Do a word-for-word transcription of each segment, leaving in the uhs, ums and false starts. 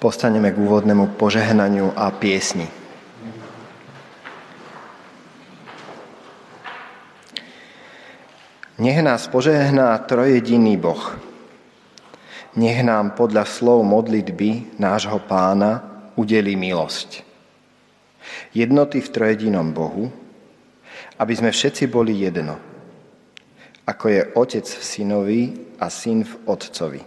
postaneme k úvodnému požehnaniu a piesni. Nech nás požehná trojjediný Boh. Nech nám podľa slov modlitby nášho Pána udelí milosť. Jednoty v trojjedinom Bohu, aby sme všetci boli jedno, ako je Otec v Synovi a Syn v Otcovi.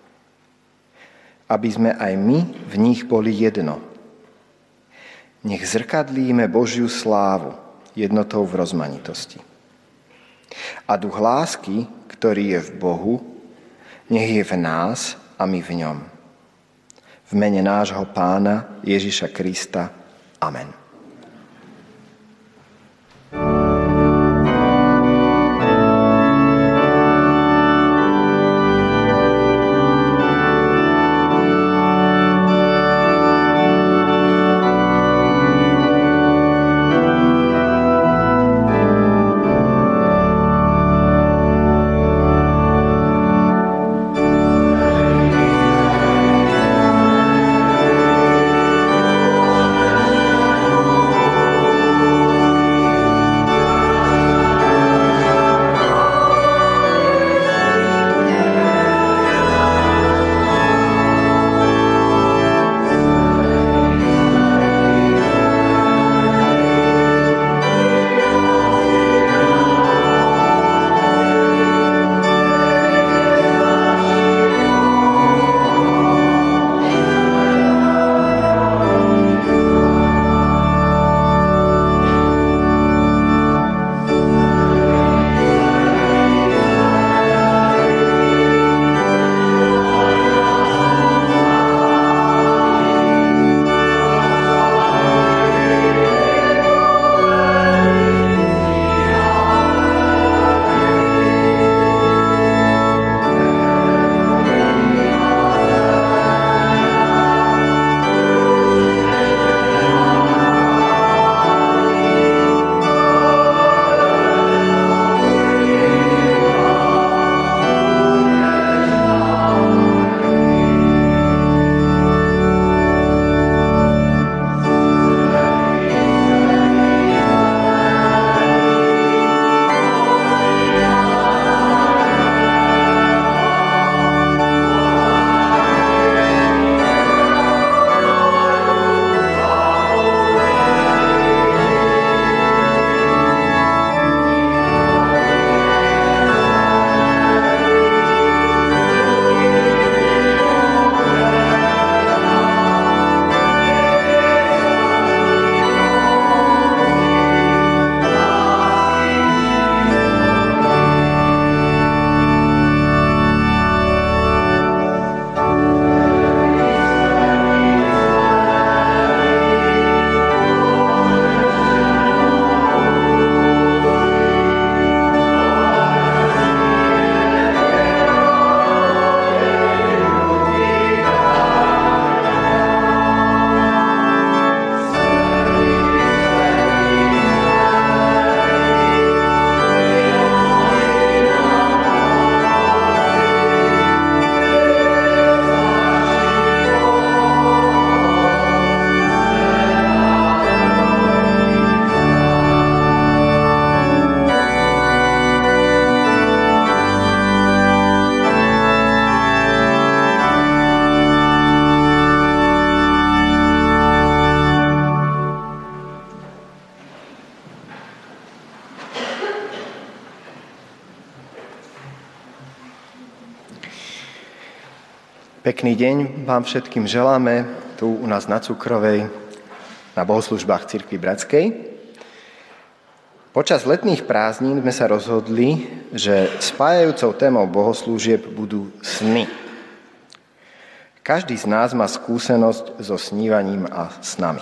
Aby sme aj my v nich boli jedno. Nech zrkadlíme Božiu slávu jednotou v rozmanitosti. A duch lásky, ktorý je v Bohu, nech je v nás a my v ňom. V mene nášho Pána Ježiša Krista. Amen. Pekný deň vám všetkým želáme tu u nás na Cukrovej, na bohoslužbách Cirkvi Bratskej. Počas letných prázdnin sme sa rozhodli, že spájajúcou témou bohoslúžieb budú sny. Každý z nás má skúsenosť so snívaním a snami.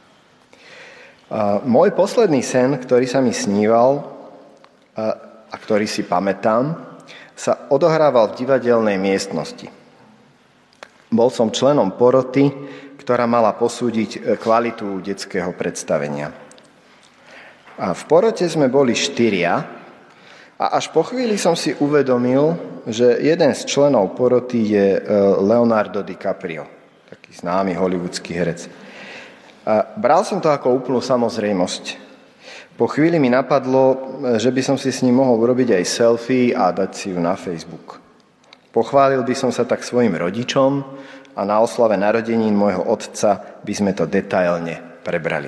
A môj posledný sen, ktorý sa mi sníval a, a ktorý si pamätám, sa odohrával v divadelnej miestnosti. Bol som členom poroty, ktorá mala posúdiť kvalitu detského predstavenia. A v porote sme boli štyria a až po chvíli som si uvedomil, že jeden z členov poroty je Leonardo DiCaprio. Taký taký známy hollywoodský herec. A bral som to ako úplnú samozrejmosť. Po chvíli mi napadlo, že by som si s ním mohol urobiť aj selfie a dať si ju na Facebook. Pochválil by som sa tak svojim rodičom a na oslave narodenín môjho otca by sme to detailne prebrali.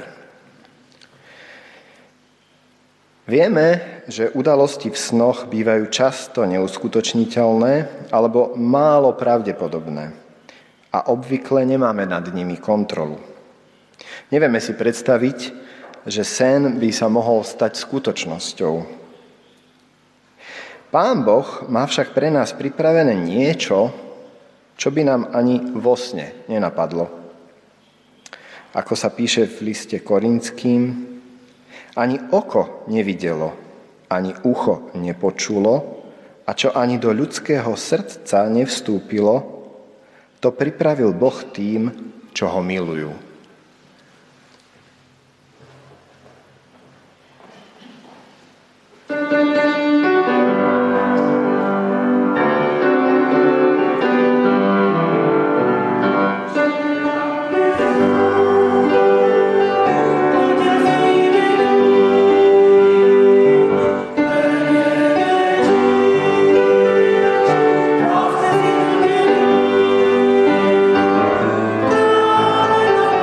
Vieme, že udalosti v snoch bývajú často neuskutočniteľné alebo málo pravdepodobné a obvykle nemáme nad nimi kontrolu. Nevieme si predstaviť, že sen by sa mohol stať skutočnosťou. Pán Boh má však pre nás pripravené niečo, čo by nám ani vo sne nenapadlo. Ako sa píše v liste Korinským, ani oko nevidelo, ani ucho nepočulo, a čo ani do ľudského srdca nevstúpilo, to pripravil Boh tým, čo ho milujú. Thank you.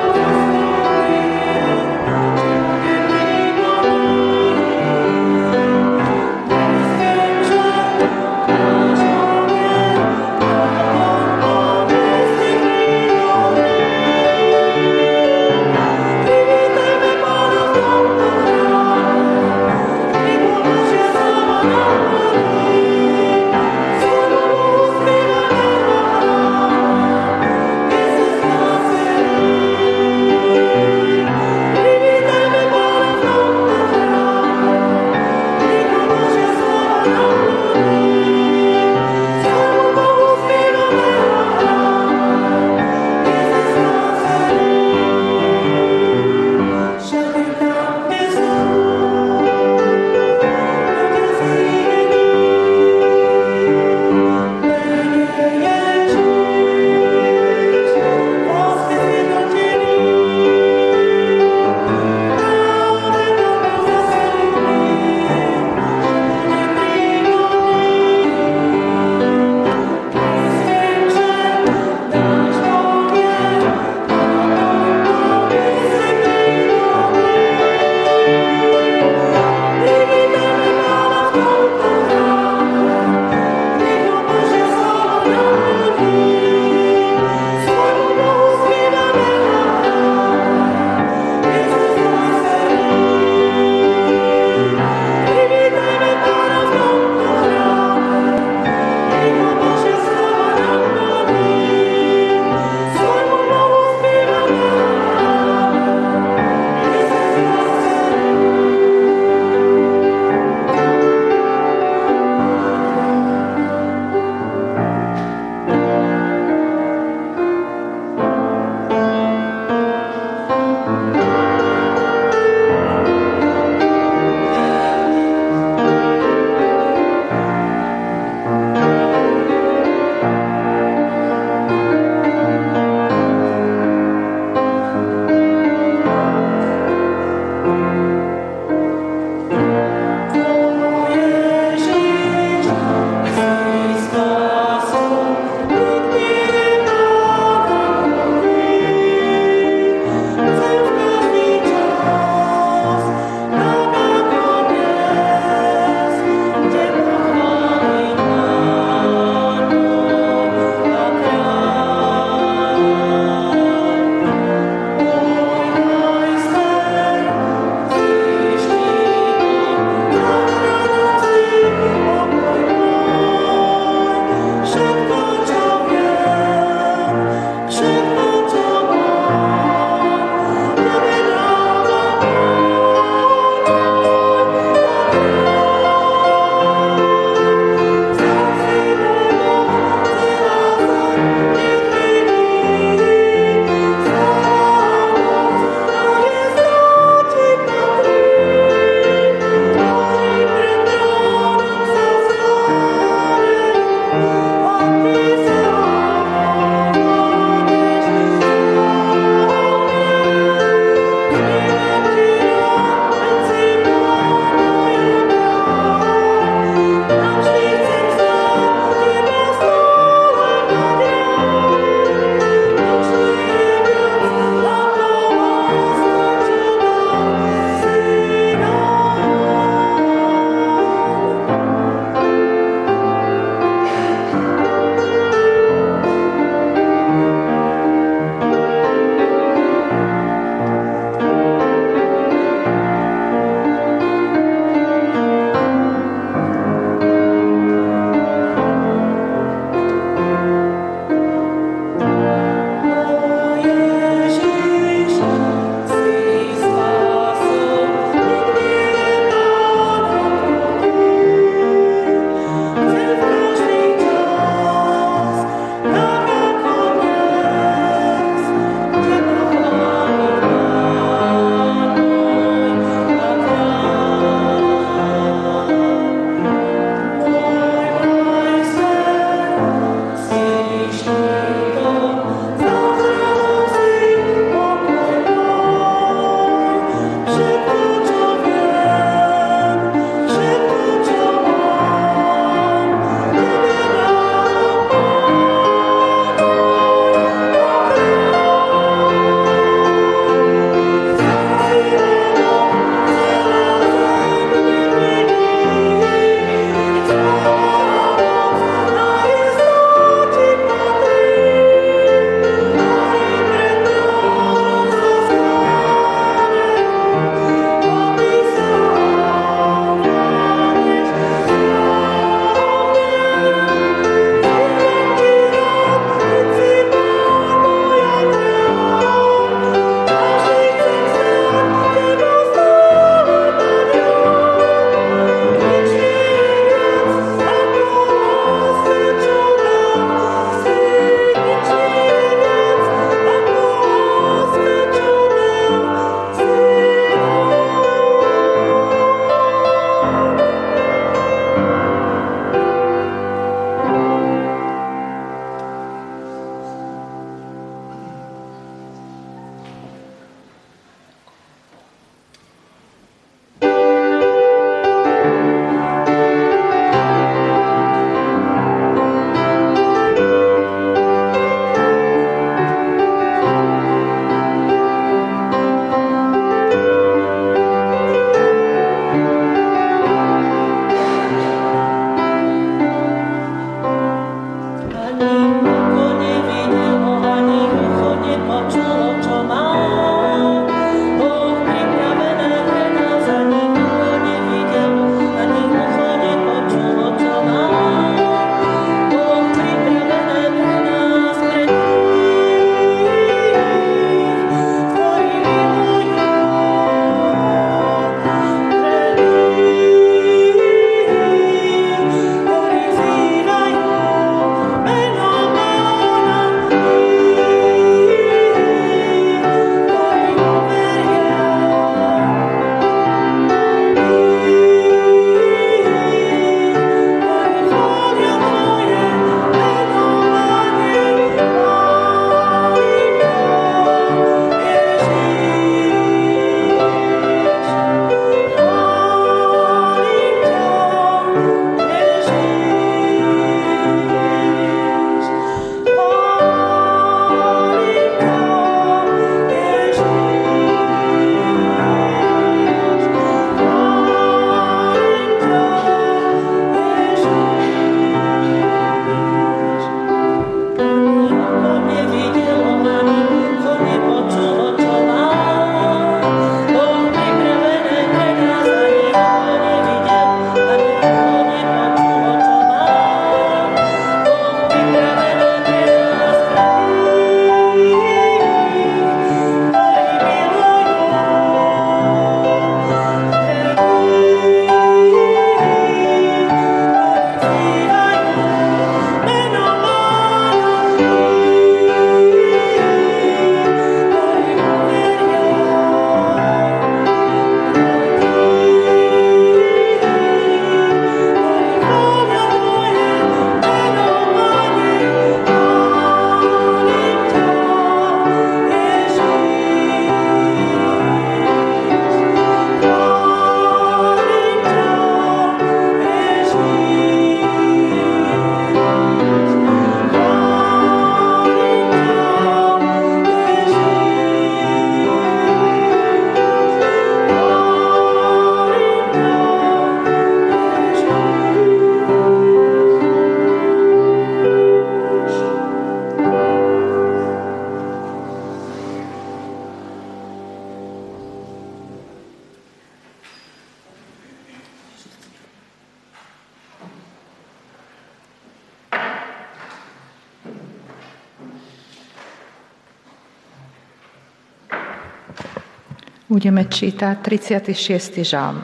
Budeme čítať tridsiaty šiesty žalm.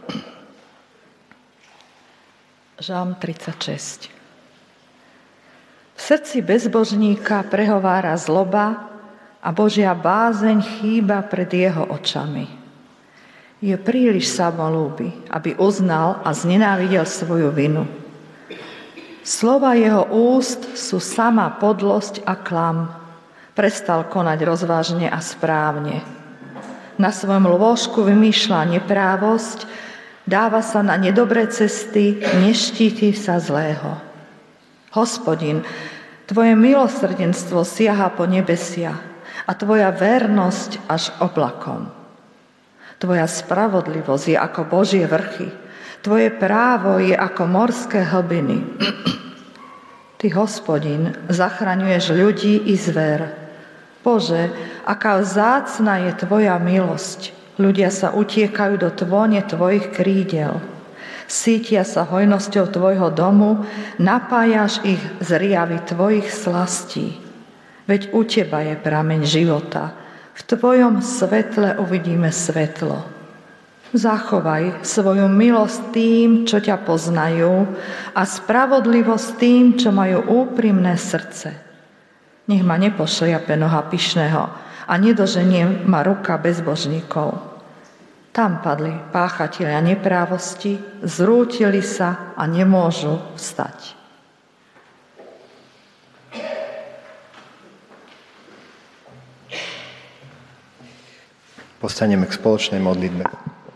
Žalm tridsaťšesť. V srdci bezbožníka prehovára zloba a Božia bázeň chýba pred jeho očami. Je príliš samolúby, aby uznal a znenávidel svoju vinu. Slova jeho úst sú sama podlosť a klam. Prestal konať rozvážne a správne. Na svojom lôžku vymýšľa neprávosť, dáva sa na nedobré cesty, neštíti sa zlého. Hospodin, tvoje milosrdenstvo siaha po nebesia a tvoja vernosť až oblakom. Tvoja spravodlivosť je ako Božie vrchy, tvoje právo je ako morské hlbiny. Ty, Hospodin, zachraňuješ ľudí i zver. Bože, aká vzácna je tvoja milosť. Ľudia sa utiekajú do tvone tvojich krídel. Sítia sa hojnosťou tvojho domu, napájaš ich z riavy tvojich slastí. Veď u teba je prameň života. V tvojom svetle uvidíme svetlo. Zachovaj svoju milosť tým, čo ťa poznajú, a spravodlivosť tým, čo majú úprimné srdce. Nech ma nepošliape noha pyšného a nedoženie ma ruka bezbožníkov. Tam padli páchatelia neprávosti, zrútili sa a nemôžu vstať. Postaneme k spoločnej modlitbe.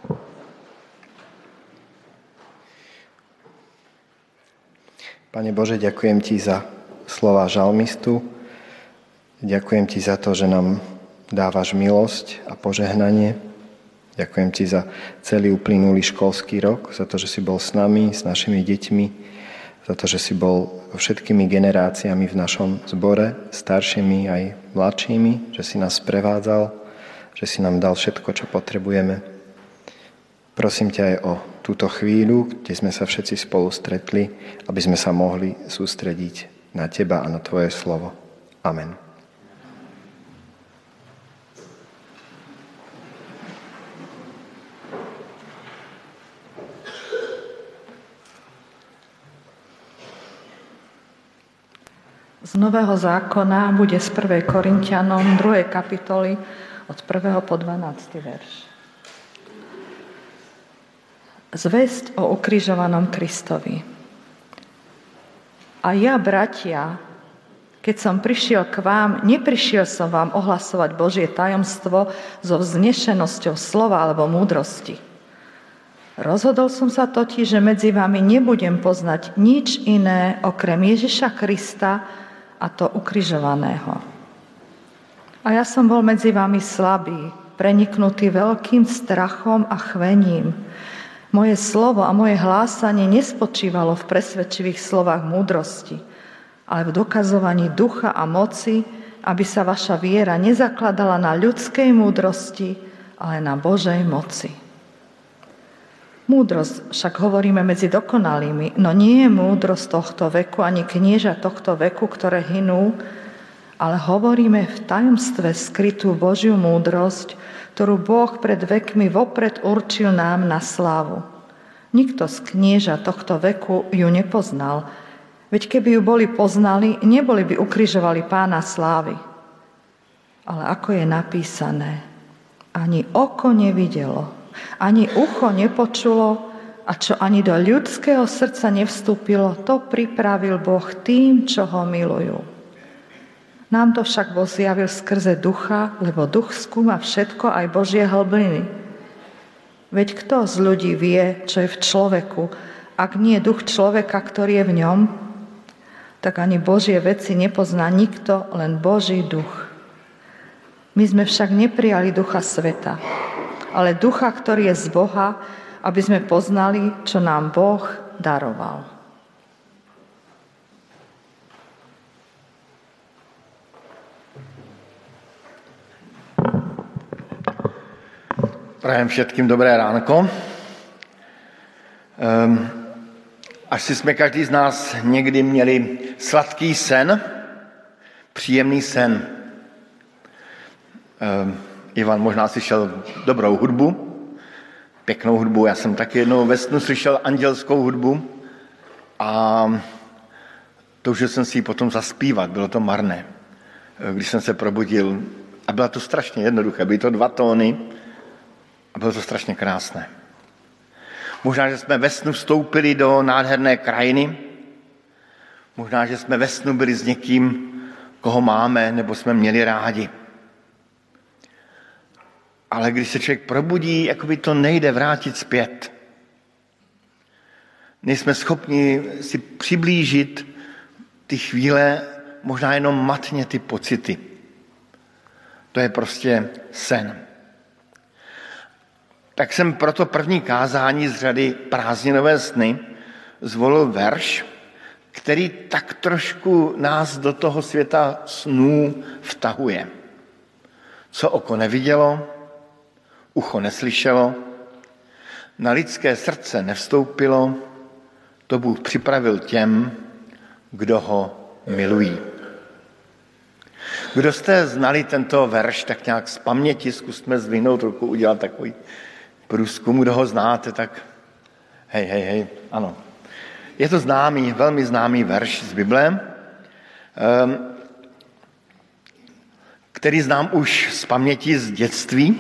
Pane Bože, ďakujem Ti za slova žalmistu. Ďakujem Ti za to, že nám dávaš milosť a požehnanie. Ďakujem Ti za celý uplynulý školský rok, za to, že si bol s nami, s našimi deťmi, za to, že si bol všetkými generáciami v našom zbore, staršími aj mladšími, že si nás prevádzal, že si nám dal všetko, čo potrebujeme. Prosím ťa aj o túto chvíľu, kde sme sa všetci spolu stretli, aby sme sa mohli sústrediť na Teba a na Tvoje slovo. Amen. Z Nového zákona bude z prvej Korinťanom druhej kapitoly od prvého po dvanásty verš. Zvesť o ukrižovanom Kristovi. A ja, bratia, keď som prišiel k vám, neprišiel som vám ohlasovať Božie tajomstvo so vznešenosťou slova alebo múdrosti. Rozhodol som sa totiž, že medzi vami nebudem poznať nič iné okrem Ježiša Krista, a to ukrižovaného. A ja som bol medzi vami slabý, preniknutý veľkým strachom a chvením. Moje slovo a moje hlásanie nespočívalo v presvedčivých slovách múdrosti, ale v dokazovaní ducha a moci, aby sa vaša viera nezakladala na ľudskej múdrosti, ale na Božej moci. Múdrosť však hovoríme medzi dokonalými, no nie je múdrosť tohto veku, ani knieža tohto veku, ktoré hynú, ale hovoríme v tajomstve skrytú Božiu múdrosť, ktorú Boh pred vekmi vopred určil nám na slávu. Nikto z knieža tohto veku ju nepoznal, veď keby ju boli poznali, neboli by ukrižovali Pána slávy. Ale ako je napísané, ani oko nevidelo, ani ucho nepočulo a čo ani do ľudského srdca nevstúpilo, to pripravil Boh tým, čo ho milujú. Nám to však Boh zjavil skrze ducha, lebo duch skúma všetko, aj Božie hlbiny. Veď kto z ľudí vie, čo je v človeku, ak nie duch človeka, ktorý je v ňom, tak ani Božie veci nepozná nikto, len Boží duch. My sme však neprijali ducha sveta, ale ducha, ktorý je z Boha, aby sme poznali, čo nám Boh daroval. Prajem všetkým dobré ránko. Um, asi jsme každý z nás někdy měli sladký sen, příjemný sen. Um, Ivan možná slyšel dobrou hudbu, pěknou hudbu. Já jsem taky jednou ve snu slyšel andělskou hudbu a toužil jsem si ji potom zaspívat. Bylo to marné, když jsem se probudil. A bylo to strašně jednoduché. Byly to dva tóny a bylo to strašně krásné. Možná, že jsme ve snu vstoupili do nádherné krajiny. Možná, že jsme ve snu byli s někým, koho máme nebo jsme měli rádi. Ale když se člověk probudí, jakoby to nejde vrátit zpět. Nejsme schopni si přiblížit ty chvíle, možná jenom matně ty pocity. To je prostě sen. Tak jsem proto první kázání z řady Prázdninové sny zvolil verš, který tak trošku nás do toho světa snů vtahuje. Co oko nevidělo, ucho neslyšelo, na lidské srdce nevstoupilo, to Bůh připravil těm, kdo ho milují. Kdo jste znali tento verš tak nějak z paměti, zkusme zvihnout ruku, udělat takový průzkum, kdo ho znáte, tak hej, hej, hej, ano. Je to známý, velmi známý verš z Bible, který znám už z paměti z dětství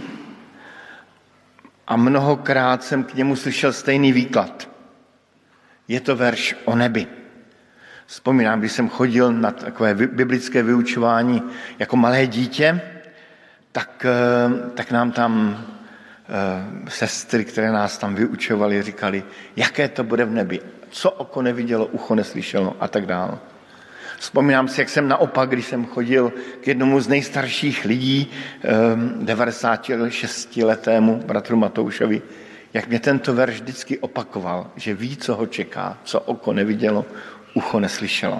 a mnohokrát jsem k němu slyšel stejný výklad. Je to verš o nebi. Vzpomínám, když jsem chodil na takové biblické vyučování jako malé dítě, tak, tak nám tam sestry, které nás tam vyučovaly, říkali, jaké to bude v nebi, co oko nevidělo, ucho neslyšelo a tak dále. Vzpomínám si, jak jsem naopak, když jsem chodil k jednomu z nejstarších lidí, devadesátišestiletému bratru Matoušovi, jak mě tento verš vždycky opakoval, že ví, co ho čeká, co oko nevidělo, ucho neslyšelo.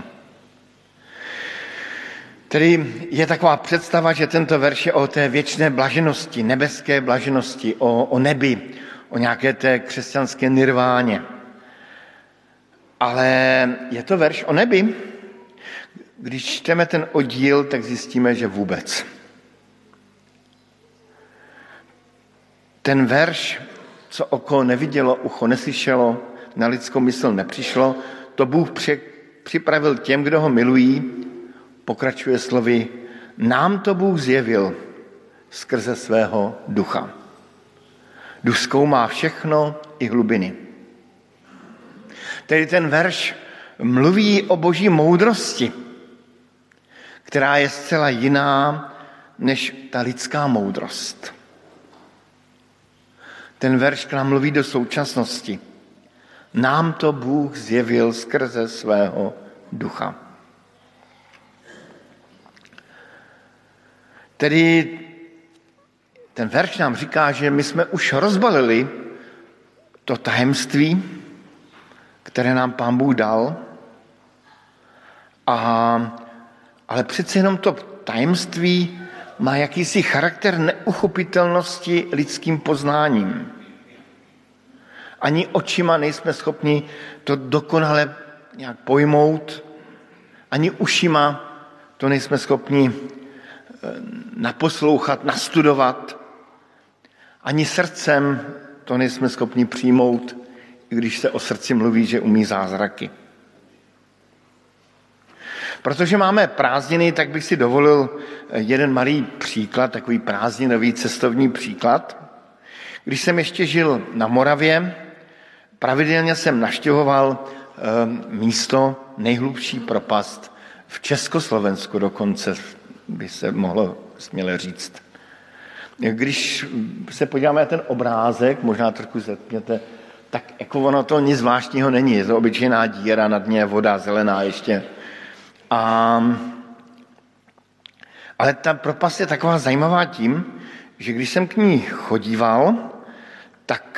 Tedy je taková představa, že tento verš je o té věčné blaženosti, nebeské blaženosti, o, o nebi, o nějaké té křesťanské nirváně. Ale je to verš o nebi? Když čteme ten oddíl, tak zjistíme, že vůbec. Ten verš, co oko nevidělo, ucho neslyšelo, na lidskou mysl nepřišlo, to Bůh připravil těm, kdo ho milují, pokračuje slovy, nám to Bůh zjevil skrze svého ducha. Duch zkoumá všechno i hlubiny. Tedy ten verš mluví o boží moudrosti, která je zcela jiná než ta lidská moudrost. Ten verš k nám mluví do současnosti. Nám to Bůh zjevil skrze svého ducha. Tedy ten verš nám říká, že my jsme už rozbalili to tajemství, které nám Pán Bůh dal, a, ale přece jenom to tajemství má jakýsi charakter neuchopitelnosti lidským poznáním. Ani očima nejsme schopni to dokonale nějak pojmout, ani ušima to nejsme schopni naposlouchat, nastudovat, ani srdcem to nejsme schopni přijmout, i když se o srdci mluví, že umí zázraky. Protože máme prázdniny, tak bych si dovolil jeden malý příklad, takový prázdninový cestovní příklad. Když jsem ještě žil na Moravě, pravidelně jsem navštěvoval místo nejhlubší propast v Československu dokonce, by se mohlo směle říct. Když se podíváme na ten obrázek, možná trochu zetměte, tak jako ono to nic zvláštního není. Je to obyčejná díra, na dně voda zelená ještě. A, ale ta propast je taková zajímavá tím, že když jsem k ní chodíval, tak,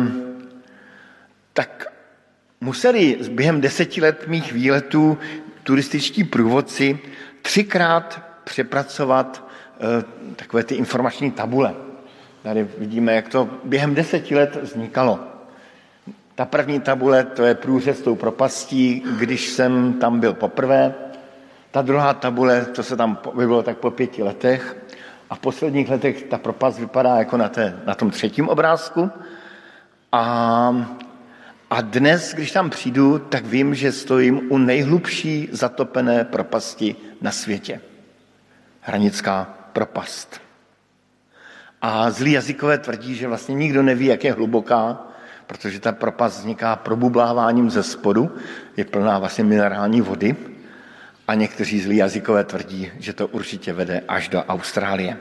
tak museli během deseti let mých výletů turističtí průvodci třikrát přepracovat takové ty informační tabule. Tady vidíme, jak to během deseti let vznikalo. Ta první tabule, to je průřez tou propastí, když jsem tam byl poprvé. Ta druhá tabule, to se tam bylo tak po pěti letech. A v posledních letech ta propast vypadá jako na, té, na tom třetím obrázku. A, a dnes, když tam přijdu, tak vím, že stojím u nejhlubší zatopené propasti na světě. Hranická propast. A zlí jazykové tvrdí, že vlastně nikdo neví, jak je hluboká, protože ta propast vzniká probubláváním ze spodu, je plná vlastně minerální vody. A někteří zlí jazykové tvrdí, že to určitě vede až do Austrálie.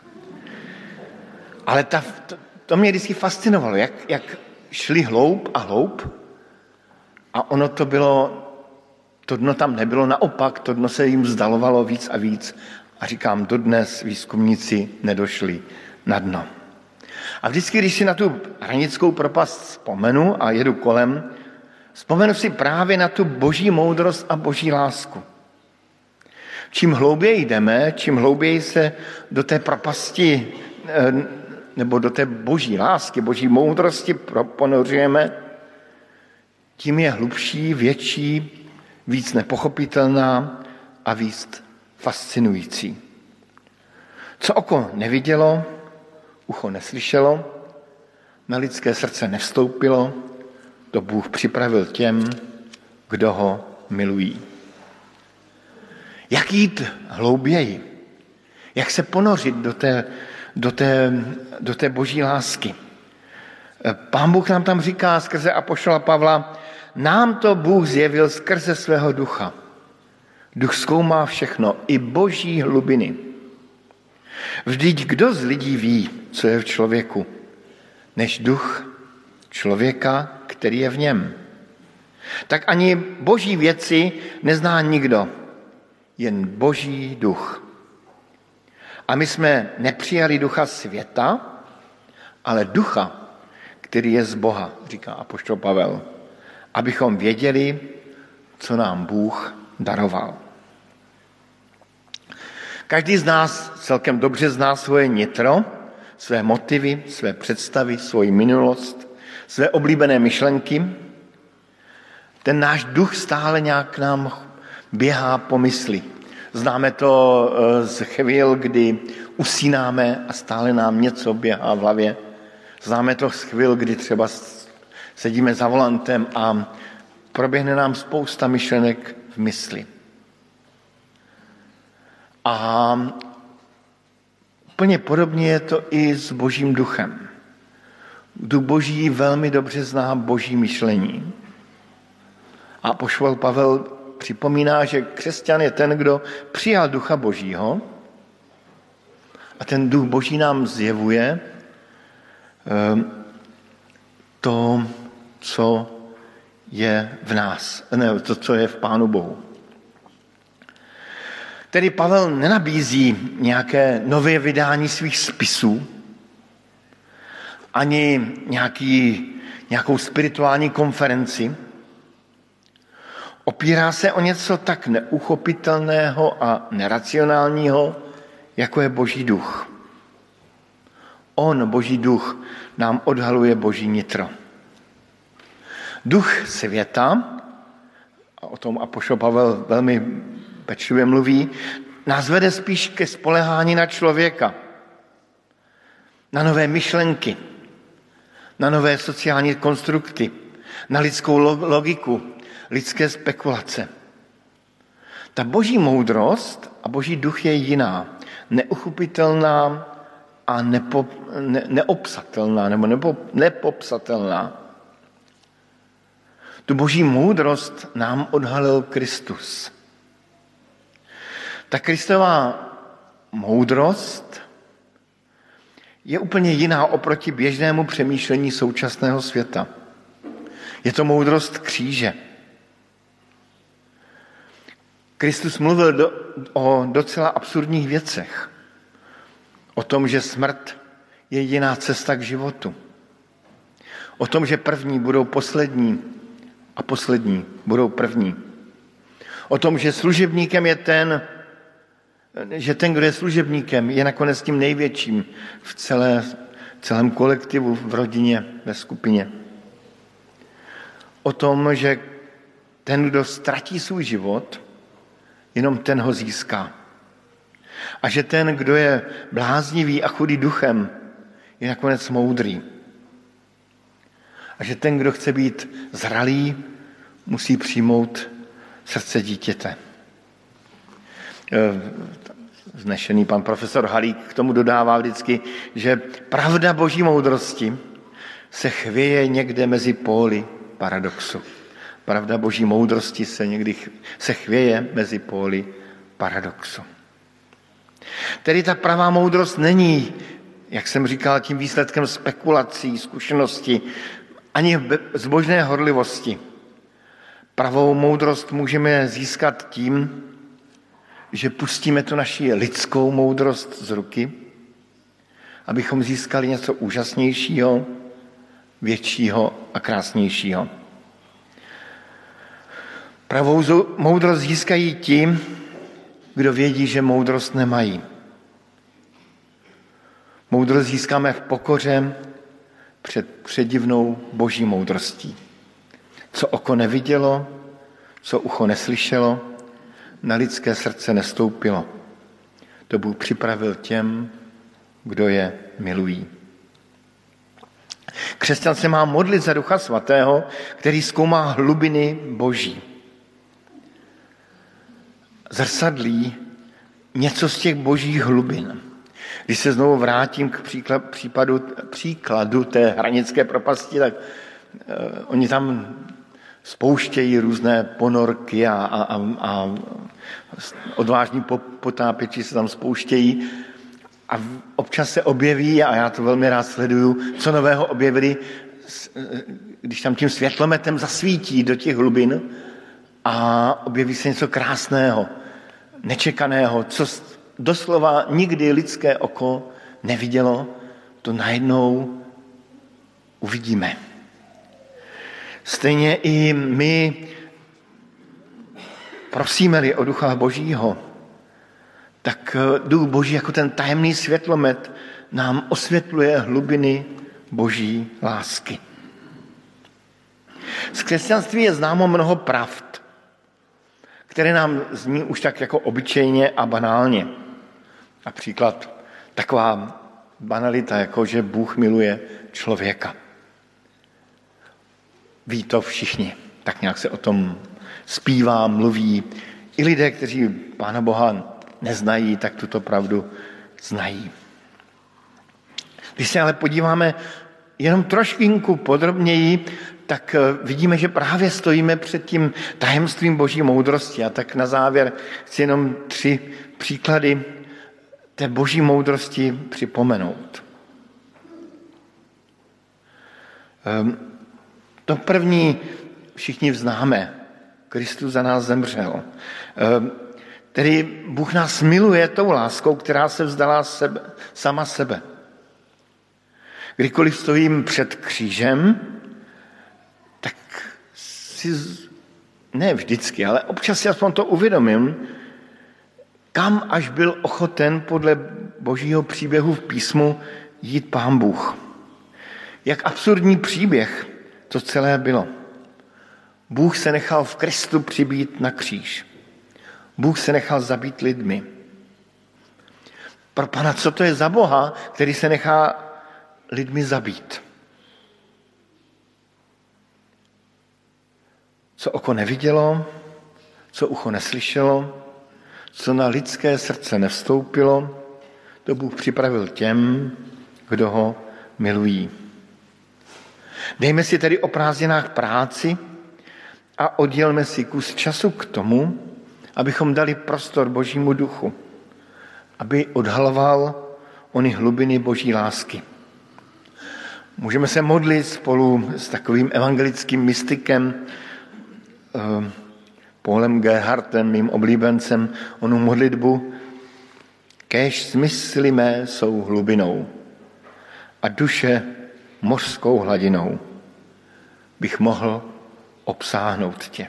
Ale ta, to, to mě vždycky fascinovalo, jak, jak šli hloub a hloub a ono to bylo, to dno tam nebylo, naopak to dno se jim vzdalovalo víc a víc a říkám, dodnes výzkumníci nedošli na dno. A vždycky, když si na tu hranickou propast vzpomenu a jedu kolem, vzpomenu si právě na tu boží moudrost a boží lásku. Čím hlouběji jdeme, čím hlouběji se do té propasti nebo do té boží lásky, boží moudrosti ponořujeme, tím je hlubší, větší, víc nepochopitelná a víc fascinující. Co oko nevidělo, ucho neslyšelo, na lidské srdce nevstoupilo, to Bůh připravil těm, kdo ho milují. Jak jít hlouběji? Jak se ponořit do té, do té, do té boží lásky? Pán Bůh nám tam říká skrze apoštola Pavla, nám to Bůh zjevil skrze svého ducha. Duch zkoumá všechno, i boží hlubiny. Vždyť kdo z lidí ví, co je v člověku, než duch člověka, který je v něm? Tak ani boží věci nezná nikdo, jen boží duch. A my jsme nepřijali ducha světa, ale ducha, který je z Boha, říká apoštol Pavel, abychom věděli, co nám Bůh daroval. Každý z nás celkem dobře zná svoje nitro, své motivy, své představy, svoji minulost, své oblíbené myšlenky. Ten náš duch stále nějak nám běhá po mysli. Známe to z chvíl, kdy usínáme a stále nám něco běhá v hlavě. Známe to z chvíl, kdy třeba sedíme za volantem a proběhne nám spousta myšlenek v mysli. A úplně podobně je to i s božím duchem. Duch boží velmi dobře zná boží myšlení. A apoštol Pavel připomíná, že křesťan je ten, kdo přijal ducha božího a ten duch boží nám zjevuje to, co je v nás, ne, to, co je v Pánu Bohu. Tedy Pavel nenabízí nějaké nové vydání svých spisů, ani nějaký, nějakou spirituální konferenci. Opírá se o něco tak neuchopitelného a neracionálního, jako je boží duch. On, boží duch, nám odhaluje boží nitro. Duch světa, a o tom apoštol Pavel velmi pečlivě mluví, nás vede spíš ke spolehání na člověka, na nové myšlenky, na nové sociální konstrukty, na lidskou logiku, lidské spekulace. Ta boží moudrost a boží duch je jiná, neuchopitelná a nepo, ne, neobsatelná, nebo nepo, nepopsatelná. Tu boží moudrost nám odhalil Kristus. Ta Kristová moudrost je úplně jiná oproti běžnému přemýšlení současného světa. Je to moudrost kříže. Kristus mluvil do, o docela absurdních věcech. O tom, že smrt je jediná cesta k životu. O tom, že první budou poslední a poslední budou první. O tom, že služebníkem je ten, že ten, kdo je služebníkem, je nakonec tím největším v celé, celém kolektivu, v rodině, ve skupině. O tom, že ten, kdo ztratí svůj život, jenom ten ho získá. A že ten, kdo je bláznivý a chudý duchem, je nakonec moudrý. A že ten, kdo chce být zralý, musí přijmout srdce dítěte. Vznešený pan profesor Halík k tomu dodává vždycky, že pravda boží moudrosti se chvěje někde mezi póly paradoxu. Pravda boží moudrosti se někdy se chvěje mezi póly paradoxu. Tedy ta pravá moudrost není, jak jsem říkal, tím výsledkem spekulací, zkušenosti, ani zbožné horlivosti. Pravou moudrost můžeme získat tím, že pustíme tu naši lidskou moudrost z ruky, abychom získali něco úžasnějšího, většího a krásnějšího. Pravou moudrost získají ti, kdo vědí, že moudrost nemají. Moudrost získáme v pokoře před předivnou boží moudrostí. Co oko nevidělo, co ucho neslyšelo, na lidské srdce nestoupilo. To Bůh připravil těm, kdo je milují. Křesťan se má modlit za Ducha Svatého, který zkoumá hlubiny boží. Zrcadlí něco z těch božích hlubin. Když se znovu vrátím k příkladu, příkladu té hranické propasti, tak uh, oni tam spouštějí různé ponorky a, a, a, a odvážní potápěči se tam spouštějí a občas se objeví, a já to velmi rád sleduju, co nového objevili, když tam tím světlometem zasvítí do těch hlubin a objeví se něco krásného, nečekaného, co doslova nikdy lidské oko nevidělo, to najednou uvidíme. Stejně i my prosíme-li o Ducha Božího, tak Duch Boží jako ten tajemný světlomet nám osvětluje hlubiny Boží lásky. Z křesťanství je známo mnoho pravd, které nám zní už tak jako obyčejně a banálně. Například taková banalita, jako že Bůh miluje člověka. Ví to všichni. Tak nějak se o tom zpívá, mluví. I lidé, kteří Pána Boha neznají, tak tuto pravdu znají. Když se ale podíváme jenom trošinku podrobněji, tak vidíme, že právě stojíme před tím tajemstvím boží moudrosti. A tak na závěr chci jenom tři příklady té boží moudrosti připomenout. To první všichni vznáme. Kristus za nás zemřel. Tedy Bůh nás miluje tou láskou, která se vzdala sebe, sama sebe. Kdykoliv stojím před křížem, tak si, ne vždycky, ale občas si aspoň to uvědomím, kam až byl ochoten podle božího příběhu v písmu jít Pán Bůh. Jak absurdní příběh to celé bylo. Bůh se nechal v Kristu přibít na kříž. Bůh se nechal zabít lidmi. Pro Pana, co to je za Boha, který se nechá lidmi zabít? Co oko nevidělo, co ucho neslyšelo, co na lidské srdce nevstoupilo, to Bůh připravil těm, kdo ho milují. Dejme si tedy o prázdninách práci a oddělme si kus času k tomu, abychom dali prostor Božímu duchu, aby odhaloval ony hlubiny Boží lásky. Můžeme se modlit spolu s takovým evangelickým mystikem eh, Paulem Gerhardtem, mým oblíbencem, onu modlitbu: kéž smysly mé jsou hlubinou a duše mořskou hladinou, bych mohl obsáhnout tě.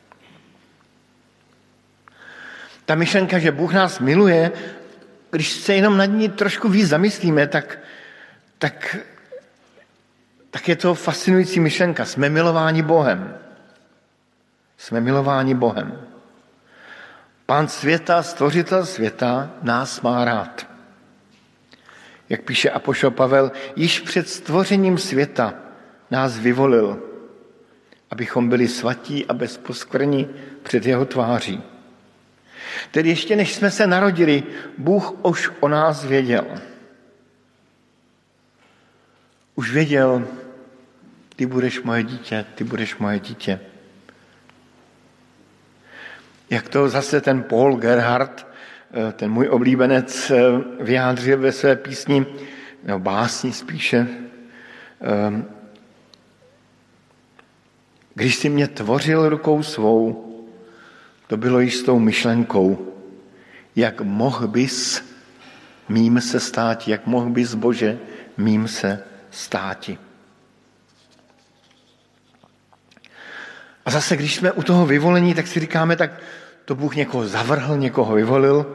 Ta myšlenka, že Bůh nás miluje, když se jenom nad ní trošku víc zamyslíme, tak, tak, tak je to fascinující myšlenka. Jsme milováni Bohem. Jsme milováni Bohem. Pán světa, stvořitel světa, nás má rád. Jak píše apoštol Pavel, již před stvořením světa nás vyvolil, abychom byli svatí a bezposkvrní před jeho tváří. Tedy ještě než jsme se narodili, Bůh už o nás věděl. Už věděl, ty budeš moje dítě, ty budeš moje dítě. Jak to zase ten Paul Gerhardt, ten můj oblíbenec, vyjádřil ve své písni, nebo básni spíše, když jsi mě tvořil rukou svou, to bylo již s tou myšlenkou, jak mohl bys mým se státi, jak mohl bys, Bože, mým se státi. A zase, když jsme u toho vyvolení, tak si říkáme, tak to Bůh někoho zavrhl, někoho vyvolil.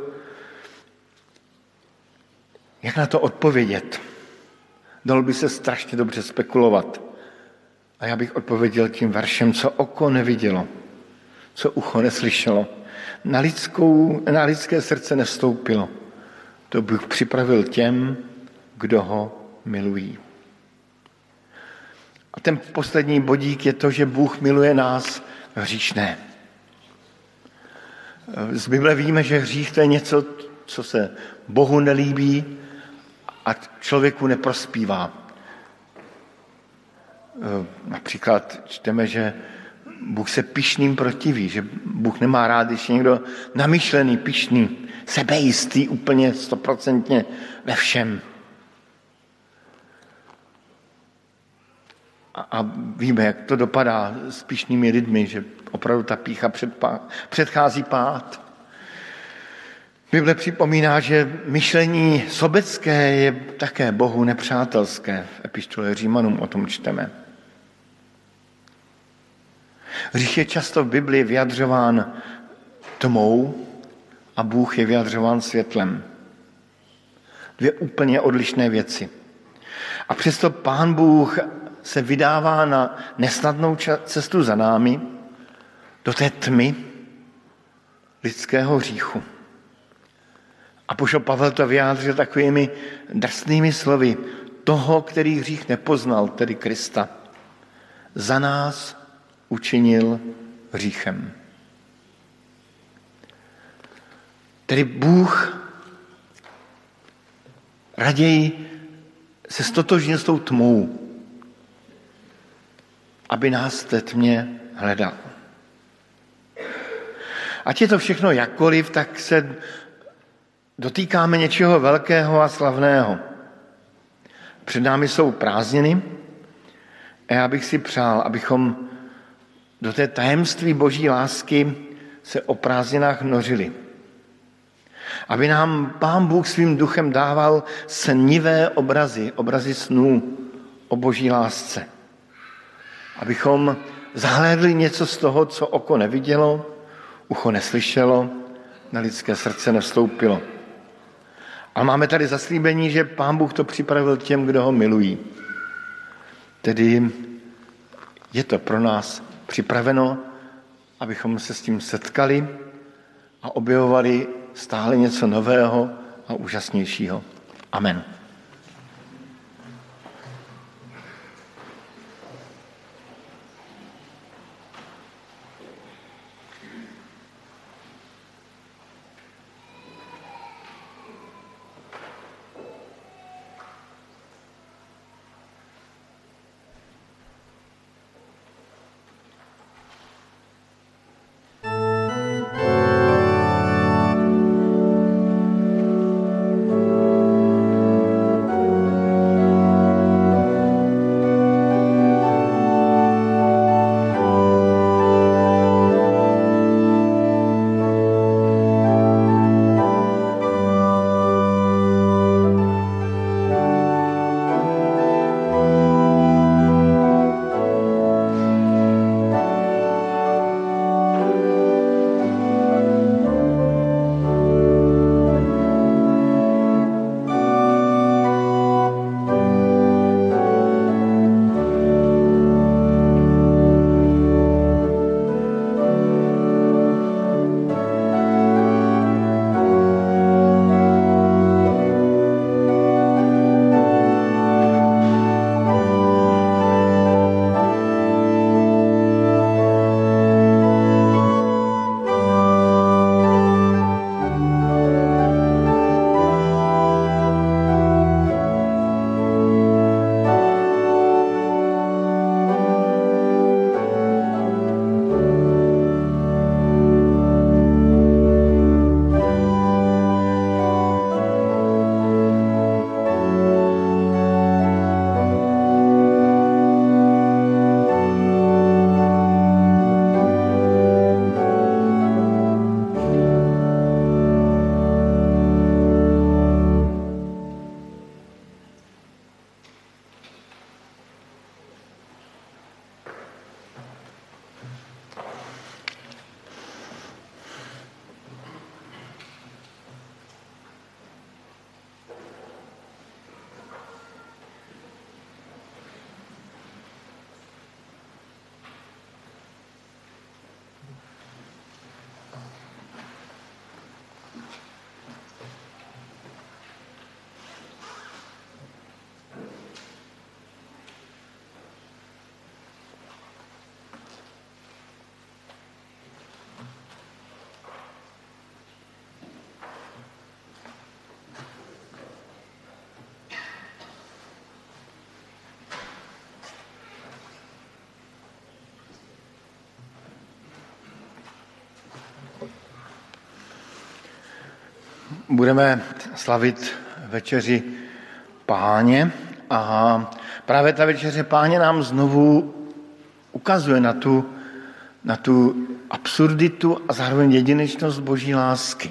Jak na to odpovědět? Dalo by se strašně dobře spekulovat. A já bych odpověděl tím veršem, co oko nevidělo, co ucho neslyšelo, na, lidskou, na lidské srdce nevstoupilo. To Bůh připravil těm, kdo ho milují. A ten poslední bodík je to, že Bůh miluje nás hříšné. Z Bible víme, že hřích to je něco, co se Bohu nelíbí a člověku neprospívá. Například čteme, že Bůh se pyšným protiví, že Bůh nemá rád, když je někdo namyšlený, pyšný, sebejistý úplně stoprocentně ve všem. A víme, jak to dopadá s pyšnými lidmi, že opravdu ta pýcha předchází pád. Bible připomíná, že myšlení sobecké je také Bohu nepřátelské. V epištole Římanům o tom čteme. Hřích je často v Biblii vyjadřován tmou a Bůh je vyjadřován světlem. Dvě úplně odlišné věci. A přesto Pán Bůh se vydává na nesnadnou cestu za námi do té tmy lidského hříchu. Apoštol Pavel to vyjádřil takovými drsnými slovy. Toho, který hřích nepoznal, tedy Krista, za nás učinil hříchem. Tedy Bůh raději se stotožnil s tou tmou, aby nás v té tmě hledal. Ať je to všechno jakkoliv, tak se dotýkáme něčeho velkého a slavného. Před námi jsou prázdniny a já bych si přál, abychom do té tajemství Boží lásky se o prázdninách nořili. Aby nám Pán Bůh svým duchem dával snivé obrazy, obrazy snů o Boží lásce. Abychom zahlédli něco z toho, co oko nevidělo, ucho neslyšelo, na lidské srdce nevstoupilo. A máme tady zaslíbení, že Pán Bůh to připravil těm, kdo ho milují. Tedy je to pro nás připraveno, abychom se s tím setkali a objevovali stále něco nového a úžasnějšího. Amen. budeme slavit večeři Páně a právě ta večeře Páně nám znovu ukazuje na tu, na tu absurditu a zároveň jedinečnost Boží lásky.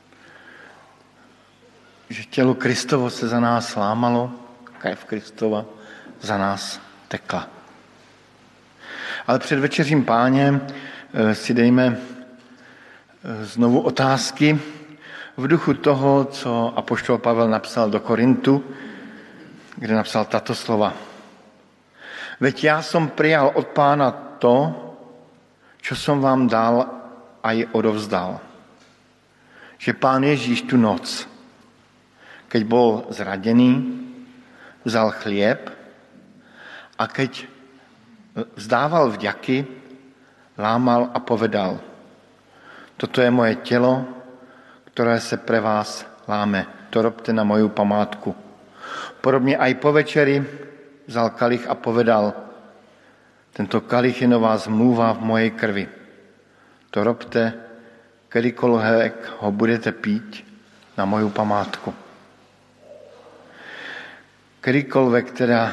Že tělo Kristovo se za nás lámalo, krev Kristova za nás tekla. Ale před večeřím Páně si dejme znovu otázky v duchu toho, co apoštol Pavel napsal do Korintu, kde napsal tato slova. Veď já som prijal od Pána to, čo som vám dal aj odovzdal. Že Pán Ježíš tu noc, keď bol zradený, vzal chlieb a keď vzdával vďaky, lámal a povedal: toto je moje telo, ktoré se pre vás láme. To robte na moju památku. Podobne aj po večeri vzal kalich a povedal: tento kalich je nová zmluva v mojej krvi. To robte, kedykoľvek ho budete piť na moju památku. Kedykoľvek teda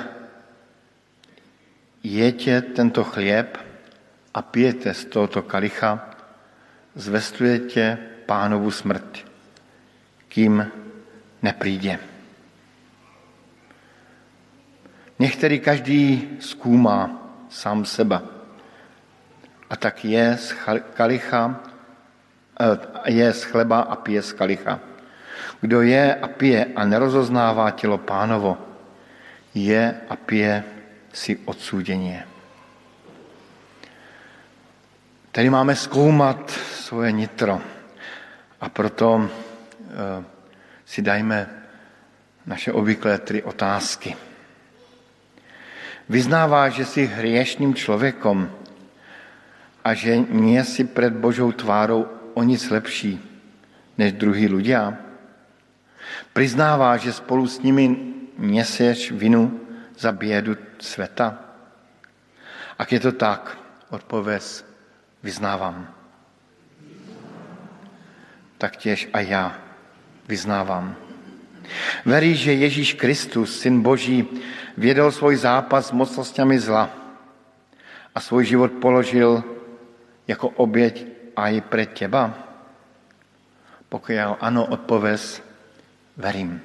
jete tento chlieb a pijete z tohoto kalicha, zvestujete Pánovu smrť, kým nepríde. Nech tedy každý skúma sám seba. A tak je z kalicha, je z chleba a pije z kalicha. Kdo je a pije a nerozoznává tělo Pánovo, je a pije si odsúdenie. Tady máme zkoumat svoje nitro a proto e, si dajme naše obvyklé tři otázky. Vyznáváš, že jsi hriešným člověkom a že nie si před Božou tvárou o nic lepší než druhý ľudia? Priznáváš, že spolu s nimi nesieš vinu za biedu sveta? Ak je to tak, odpověz: vyznávám. Tak těž a já vyznávám. Veríš, že Ježíš Kristus, Syn Boží, viedol svoj zápas s mocnosťami zla a svoj život položil jako oběť aj pre teba? Pokiaľ ano, odpověz: verím.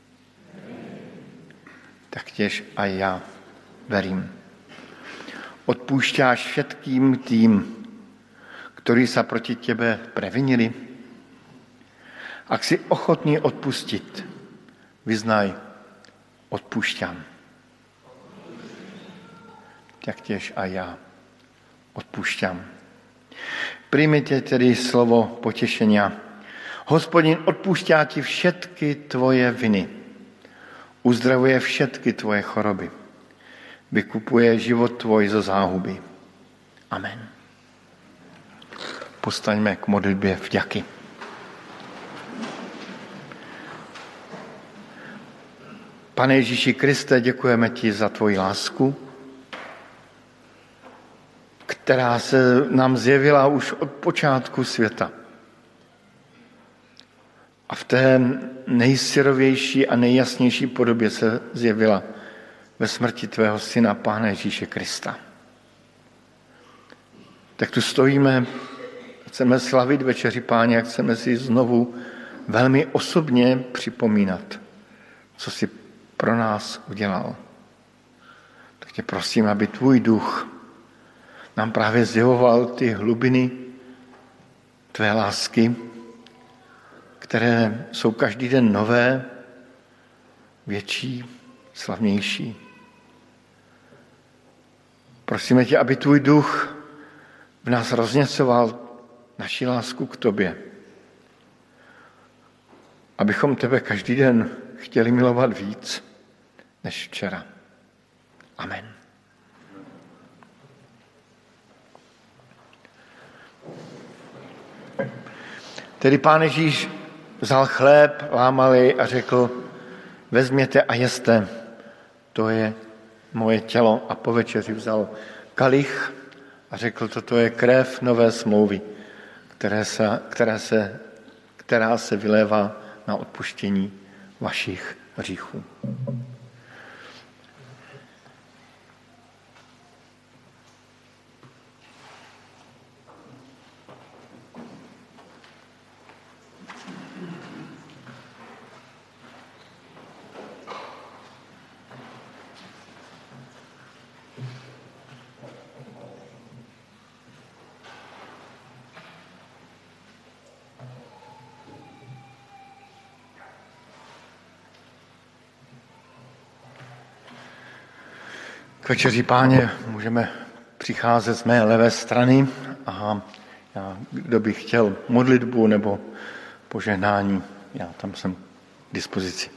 Tak těž a já verím. Odpúšťáš všetkým tým, ktorí sa proti tebe previnili? Ak si ochotný odpustiť, vyznaj: odpúšťam. Taktiež a ja odpúšťam. Príjmite tedy slovo potešenia. Hospodin odpúšťá ti všetky tvoje viny. Uzdravuje všetky tvoje choroby. Vykupuje život tvoj zo záhuby. Amen. Postaňme k modlitbě vďaky. Pane Ježíši Kriste, děkujeme ti za tvoji lásku, která se nám zjevila už od počátku světa. A v té nejsyrovější a nejjasnější podobě se zjevila ve smrti tvého syna, Pána Ježíše Krista. Tak tu stojíme, chceme slavit večeři Páně a chceme si znovu velmi osobně připomínat, co jsi pro nás udělal. Tak tě prosím, aby tvůj duch nám právě zjevoval ty hlubiny tvé lásky, které jsou každý den nové, větší, slavnější. Prosíme tě, aby tvůj duch v nás rozněcoval naši lásku k tobě. Abychom tebe každý den chtěli milovat víc než včera. Amen. Tedy Pán Ježíš vzal chléb, lámal jej a řekl: vezměte a jeste, to je moje tělo. A po večeři vzal kalich a řekl: toto je krev nové smlouvy, které se, které se, která se vylévá na odpuštění vašich hříchů. K večeři Páně můžeme přicházet z mé levé strany a já, kdo by chtěl modlitbu nebo požehnání, já tam jsem k dispozici.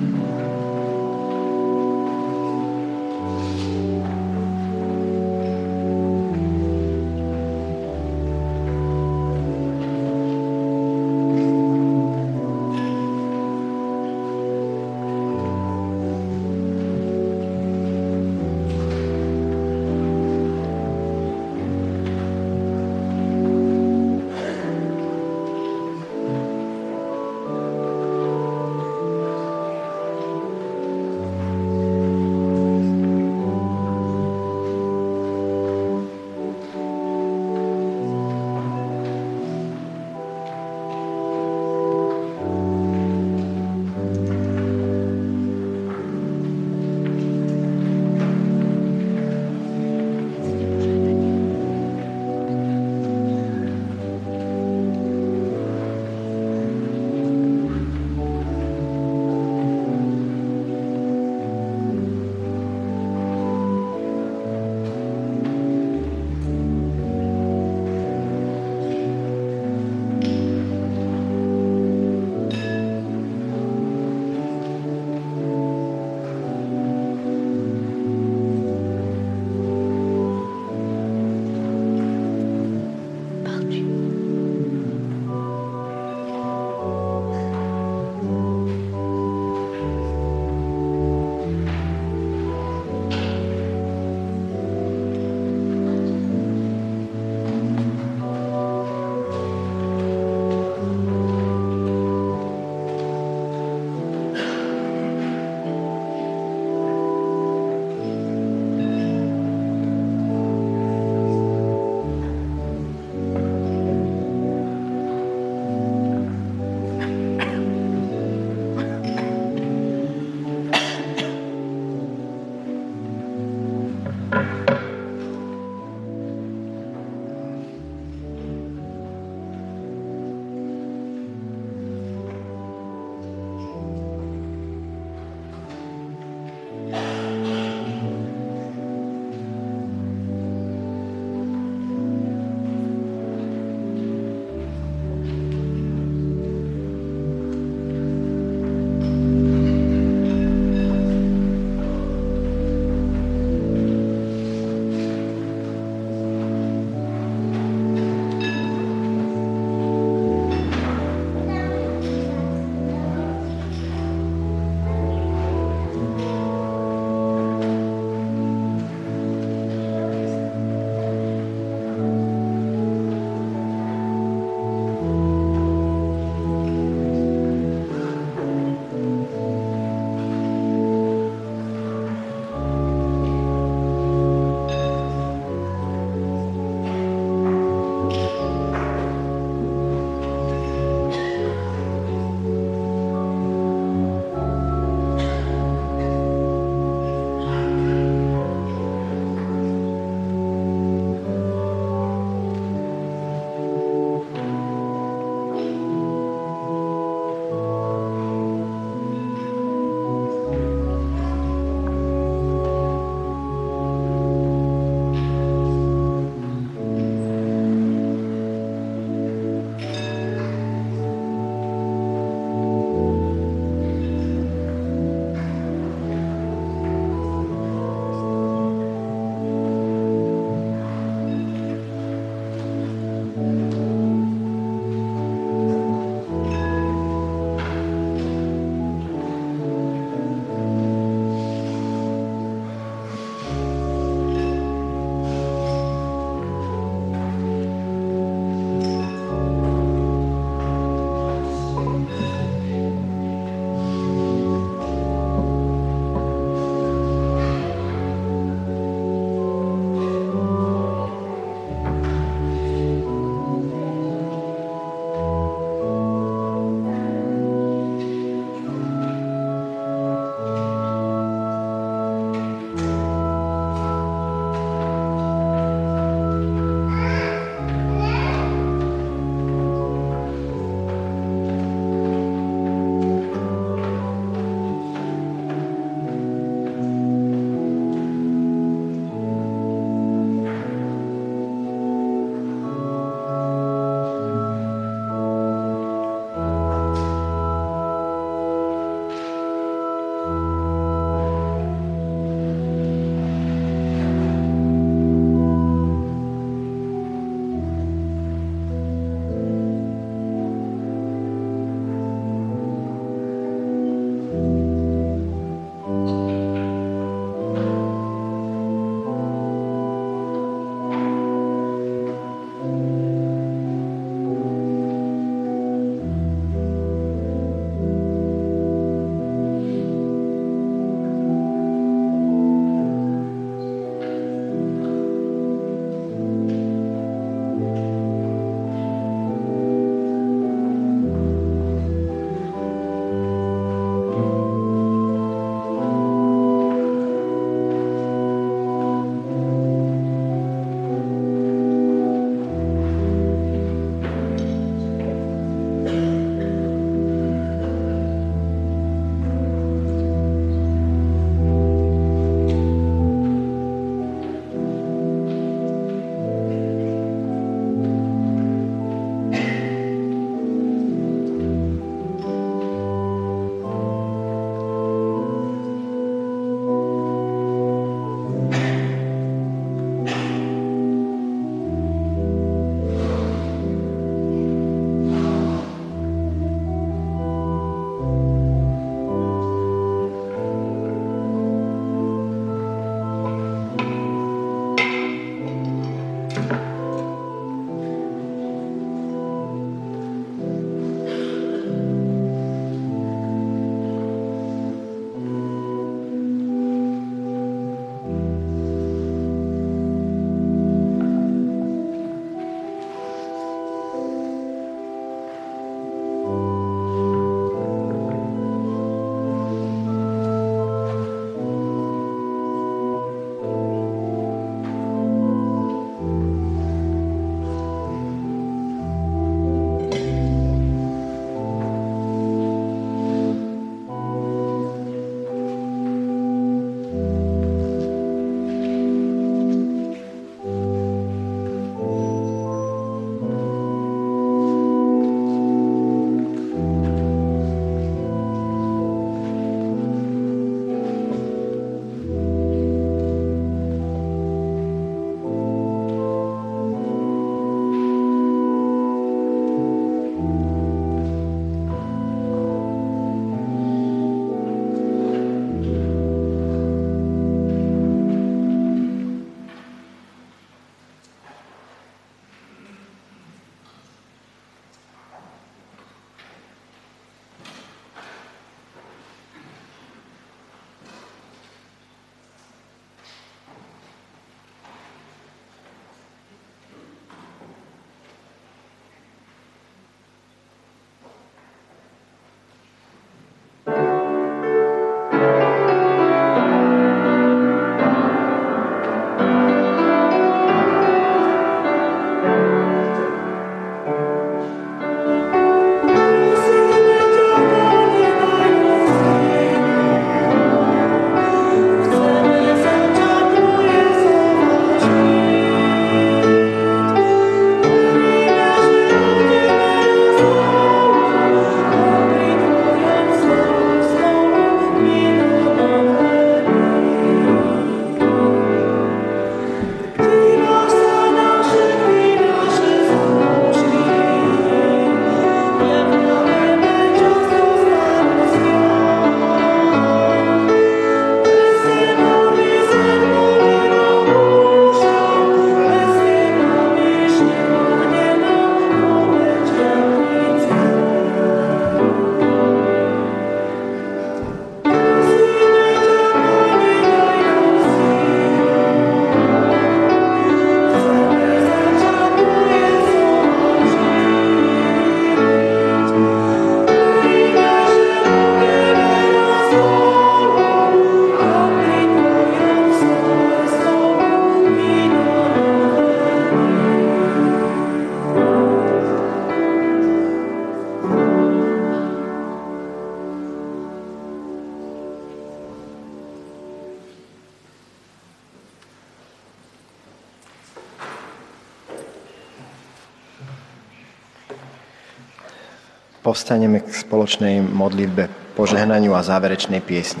Povstaneme k spoločnej modlitbe, požehnaniu a záverečnej piesni.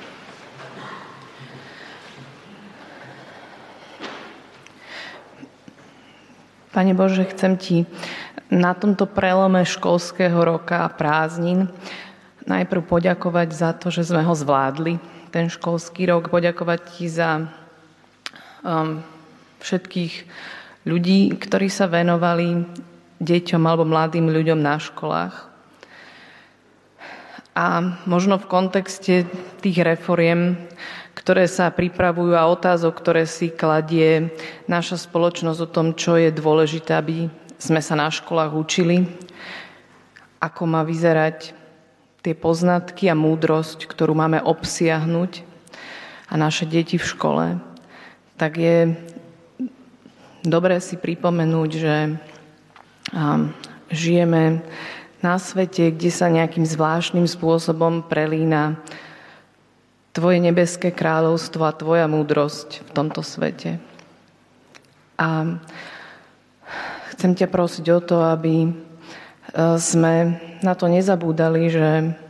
Pane Bože, chcem Ti na tomto prelome školského roka a prázdnin najprv poďakovať za to, že sme ho zvládli, ten školský rok, poďakovať Ti za um, všetkých ľudí, ktorí sa venovali deťom alebo mladým ľuďom na školách. A možno v kontexte tých reforiem, ktoré sa pripravujú a otázok, ktoré si kladie naša spoločnosť o tom, čo je dôležité, aby sme sa na školách učili, ako má vyzerať tie poznatky a múdrosť, ktorú máme obsiahnuť a naše deti v škole, tak je dobré si pripomenúť, že žijeme na svete, kde sa nejakým zvláštnym spôsobom prelína Tvoje nebeské kráľovstvo a Tvoja múdrosť v tomto svete. A chcem ťa prosiť o to, aby sme na to nezabúdali, že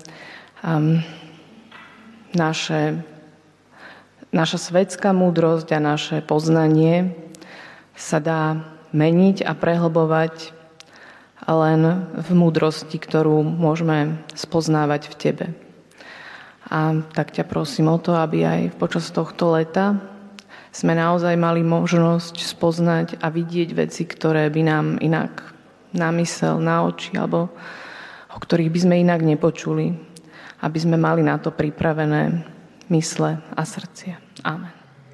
naše, naša svetská múdrosť a naše poznanie sa dá meniť a prehlbovať len v múdrosti, ktorú môžeme spoznávať v Tebe. A tak ťa prosím o to, aby aj počas tohto leta sme naozaj mali možnosť spoznať a vidieť veci, ktoré by nám inak na mysel, na oči, alebo o ktorých by sme inak nepočuli, aby sme mali na to pripravené mysle a srdcia. Amen.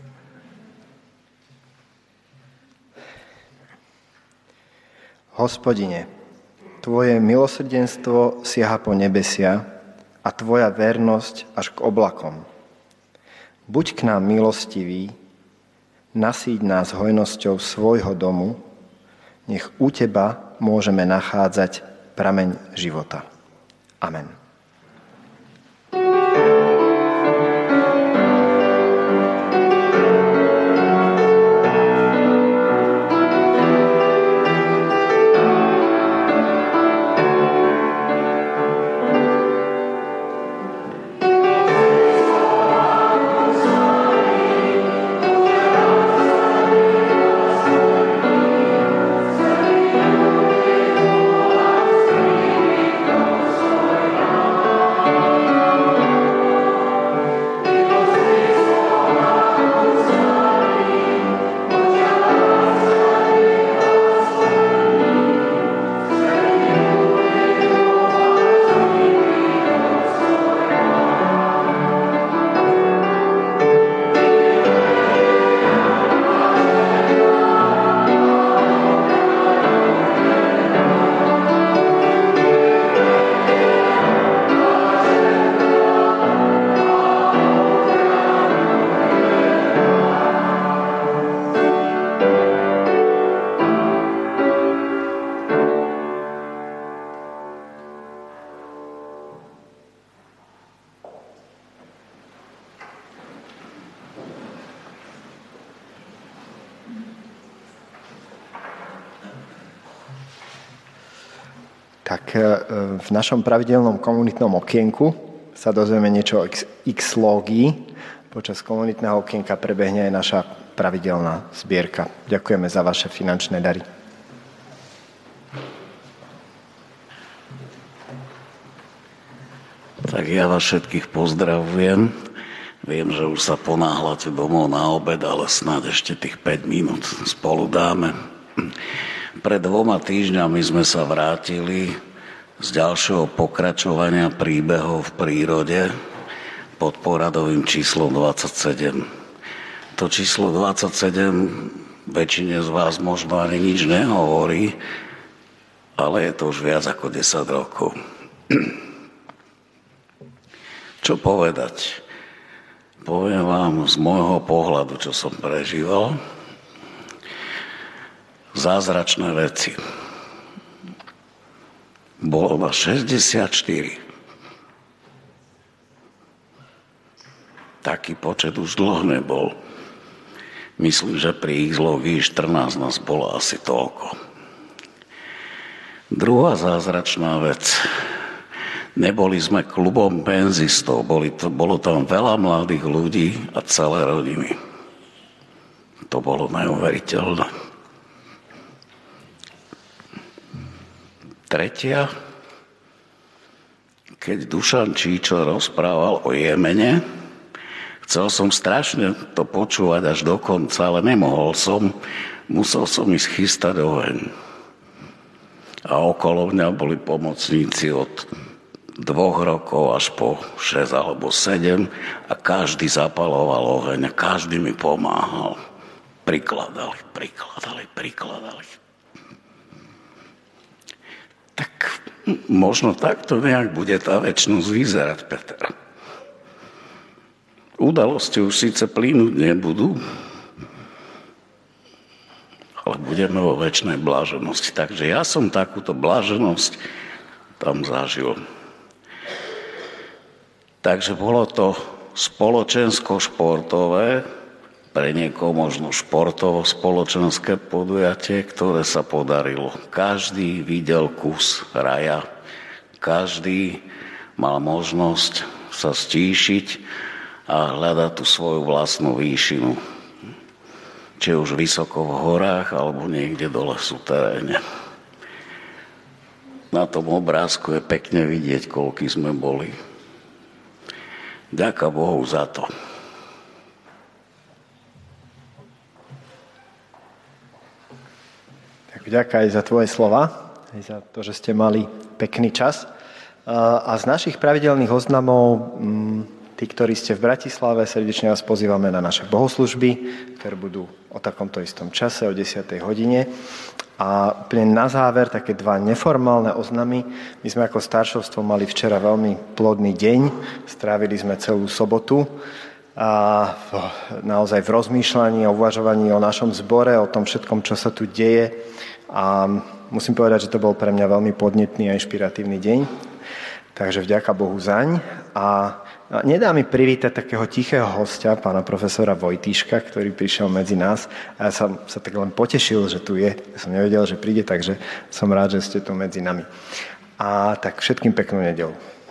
Hospodine, Tvoje milosrdenstvo siaha po nebesia a Tvoja vernosť až k oblakom. Buď k nám milostivý, nasýť nás hojnosťou svojho domu, nech u Teba môžeme nachádzať prameň života. Amen. Tak v našom pravidelnom komunitnom okienku sa dozvieme niečo o X-lógii. Počas komunitného okienka prebehne aj naša pravidelná zbierka. Ďakujeme za vaše finančné dary. Tak ja vás všetkých pozdravujem. Viem, že už sa ponáhľate domov na obed, ale snáď ešte tých päť minút spolu dáme. Pred dvoma týždňami sme sa vrátili z ďalšieho pokračovania príbehov v prírode pod poradovým číslom dvadsaťsedem. To číslo dvadsaťsedem väčšine z vás možno ani nič nehovorí, ale je to už viac ako desať rokov. Čo povedať? Poviem vám z môjho pohľadu, čo som prežíval. Zázračné veci. Bolo ma šesťdesiatštyri. Taký počet už dlho nebol. Myslím, že pri X-lógii štrnásť nás bolo asi toľko. Druhá zázračná vec. Neboli sme klubom penzistov, boli to, bolo tam veľa mladých ľudí a celé rodiny. To bolo neuveriteľné. Tretia, keď Dušan Číčo rozprával o Jemene, chcel som strašne to počúvať až do konca, ale nemohol som, musel som ísť chystať oheň. A okolo mňa boli pomocníci od dvoch rokov až po šesť alebo sedem a každý zapaloval oheň a každý mi pomáhal. Prikladali, prikladali, prikladali. Tak možno takto nejak bude tá večnosť vyzerať, Peter. Udalosti už síce plynúť nebudú, ale budeme vo večnej bláženosti. Takže ja som takúto bláženosť tam zažil. Takže bolo to spoločensko-športové, pre niekoho možno športovo-spoločenské podujatie, ktoré sa podarilo. Každý videl kus raja, každý mal možnosť sa stíšiť a hľadať tú svoju vlastnú výšinu. Či už vysoko v horách, alebo niekde dole v suteréne. Na tom obrázku je pekne vidieť, koľký sme boli. Ďaká Bohu za to. Tak vďaka aj za tvoje slova, aj za to, že ste mali pekný čas. A z našich pravidelných oznamov, tí, ktorí ste v Bratislave, srdečne vás pozývame na naše bohoslužby, ktoré budú o takomto istom čase, o desiatej hodine. A úplne na záver také dva neformálne oznamy. My sme ako staršovstvo mali včera veľmi plodný deň. Strávili sme celú sobotu a naozaj v rozmýšľaní a uvažovaní o našom zbore, o tom všetkom, čo sa tu deje. A musím povedať, že to bol pre mňa veľmi podnetný a inšpiratívny deň. Takže vďaka Bohu zaň. A nedá mi privítať takého tichého hostia, pána profesora Vojtíška, ktorý prišiel medzi nás. A ja som sa tak len potešil, že tu je. Ja som nevedel, že príde, takže som rád, že ste tu medzi nami. A tak všetkým peknú nedeľu.